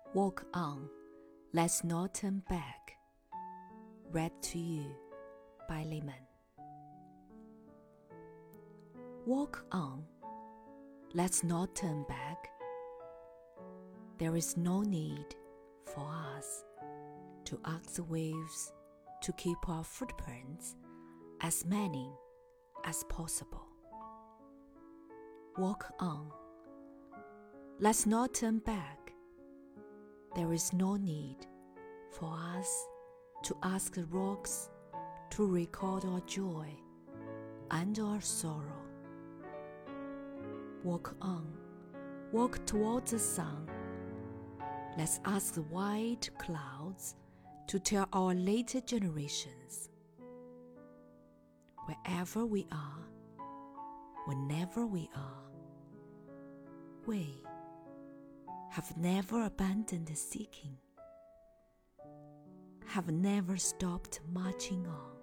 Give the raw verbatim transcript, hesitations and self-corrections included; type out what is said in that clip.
Walk on, let's not turn back. Read to you by Lehman. Walk on, let's not turn back. There is no need for us to ask the waves to keep our footprints as many as possible. Walk on, let's not turn back. There is no need for us to ask the rocks to record our joy and our sorrow. Walk on, walk towards the sun. Let's ask the white clouds to tell our later generations. Wherever we are, whenever we are, we have never abandoned seeking, have never stopped marching on.